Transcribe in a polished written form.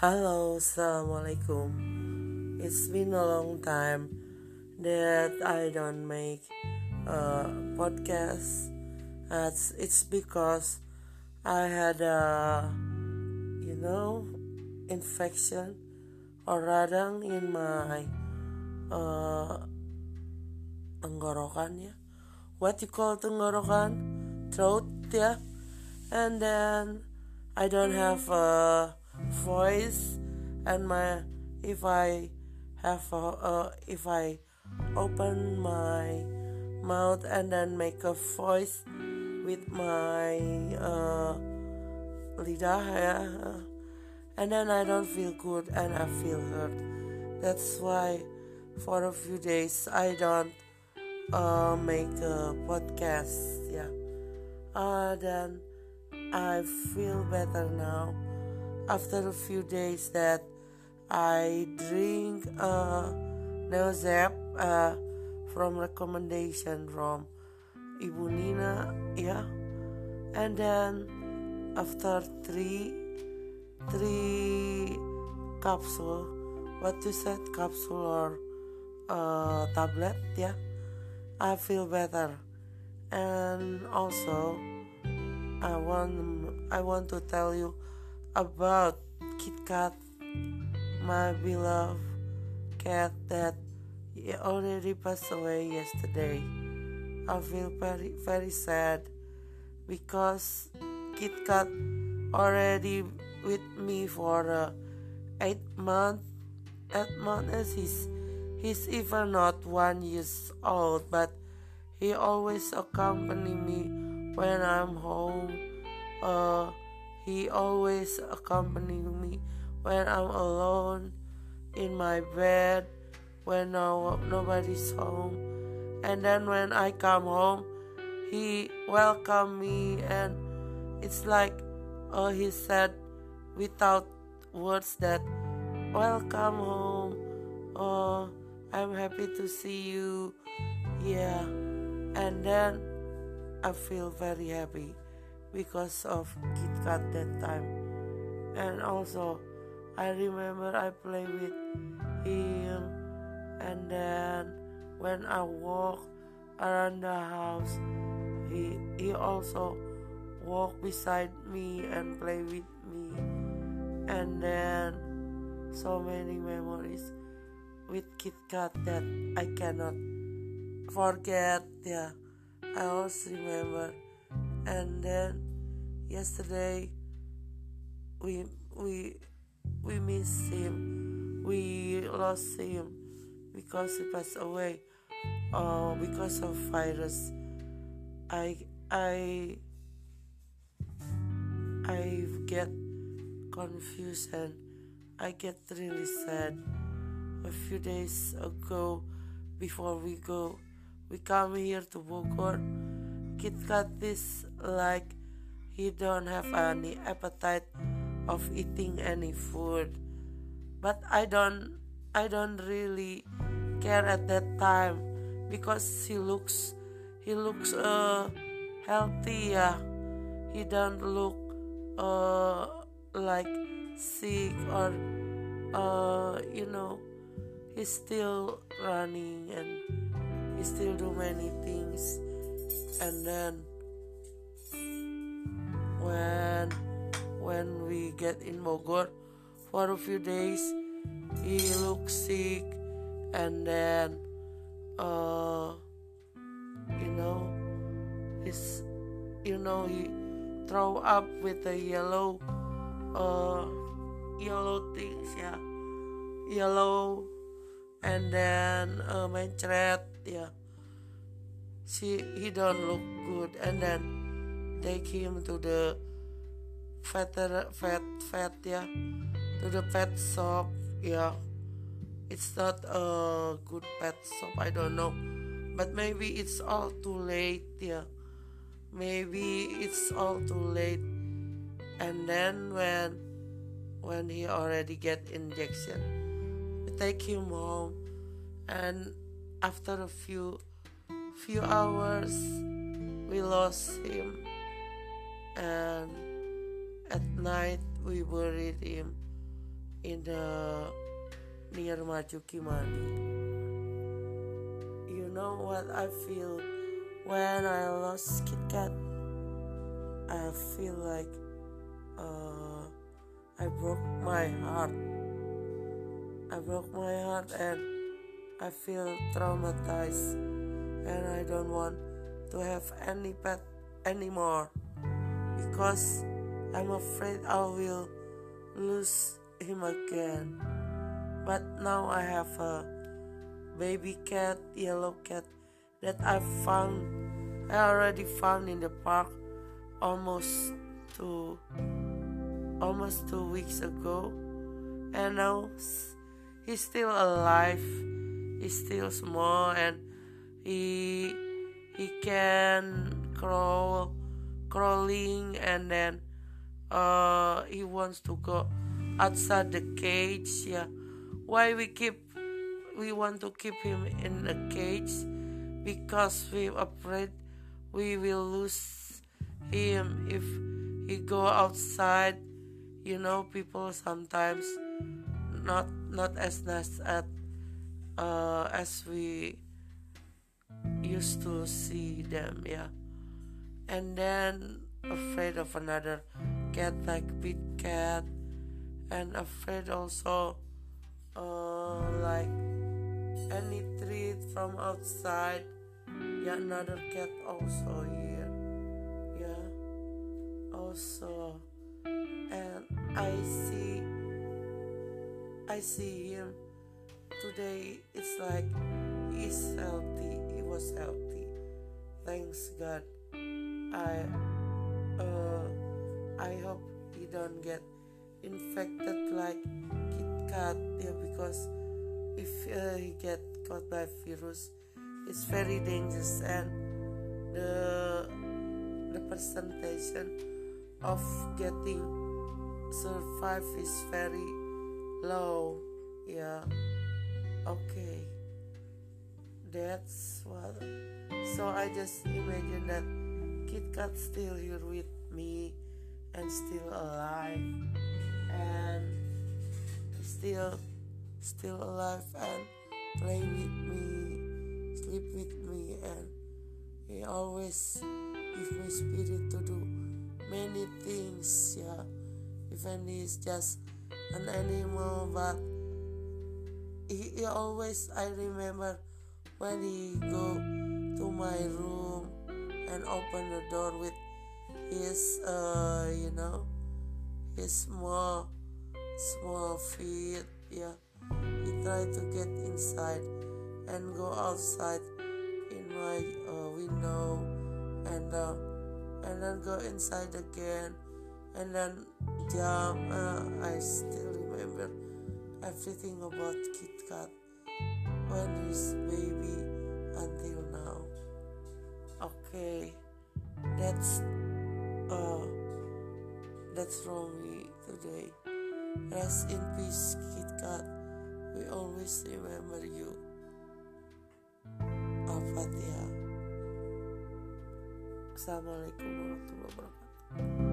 Halo, Assalamualaikum. It's been a long time that I don't make a podcast. It's because I had infection or radang in my uh, tenggorokan ya. What you call tenggorokan? Throat ya. And then I don't have a voice, and if I if I open my mouth and then make a voice with my lidah ya, and then I don't feel good and I feel hurt. That's why for a few days I don't make a podcast ya. Then I feel better now after a few days that I drink Neozep from recommendation from Ibu Nina ya. And then after three capsule, what you said, capsule or tablet ya, I feel better. And also I want to tell you about KitKat, my beloved cat that already passed away yesterday. I feel very very sad because KitKat already with me for 8 months. 8 months as he's even not 1 year old, but he always accompany me when I'm home. He always accompany me when I'm alone in my bed, when nobody's home. And then when I come home, he welcome me, and it's like he said without words that welcome home. I'm happy to see you. Yeah. And then I feel very happy because of KitKat that time. And also I remember I play with him, and then when I walk around the house, he also walk beside me and play with me. And then so many memories with KitKat that I cannot forget. Yeah, I always remember. And then yesterday we miss him. We lost him because he passed away. Because of virus. I get confused and I get really sad. A few days ago, before we come here to Bogor, KitKat is like he don't have any appetite of eating any food. But I don't really care at that time because he looks healthy. Yeah, he don't look like sick or he's still running and he still do many things. And then when we get in Bogor for a few days, he looks sick, and then he throw up with the yellow things, yeah, yellow, and then mencret, yeah. He don't look good, and then take him to the vet, yeah, to the pet shop, yeah. It's not a good pet shop, I don't know, but maybe it's all too late, yeah. Maybe it's all too late. And then when he already get injection, we take him home, and after a few hours we lost him, and at night we buried him in the near Majuki Mani. You know what I feel when I lost Kit Kat? I feel like I broke my heart. I broke my heart and I feel traumatized, and I don't want to have any pet anymore because I'm afraid I will lose him again. But now I have a baby cat, yellow cat, that I already found in the park almost 2 weeks ago, and now he's still alive. He's still small, and he can crawling, and then he wants to go outside the cage. Yeah, why we want to keep him in a cage? Because we're afraid we will lose him if he go outside. You know, people sometimes not as nice as we used to see them. Yeah, and then afraid of another cat like big cat, and afraid also like any treat from outside. Yeah, another cat also here. Yeah, also, and I see him today. It's like he's healthy. He was healthy. Thanks God. I hope he don't get infected like Kit Kat. Yeah, because if he get caught by virus, it's very dangerous, and the percentage of getting survive is very low. Yeah, okay, that's what. So I just imagine that Kit Kat still here with me and still alive and still alive and play with me, sleep with me, and he always give me spirit to do many things. Yeah, even he's just an animal, but he always, I remember when he go to my room and open the door with his his small feet. Yeah, he tried to get inside and go outside in my window, and then go inside again, and then jump. I still remember everything about Kit Kat when he's baby until now. Okay, that's from me today. Rest in peace, Kit Kat. We always remember you. Al-Fatihah. Assalamualaikum warahmatullahi wabarakatuh.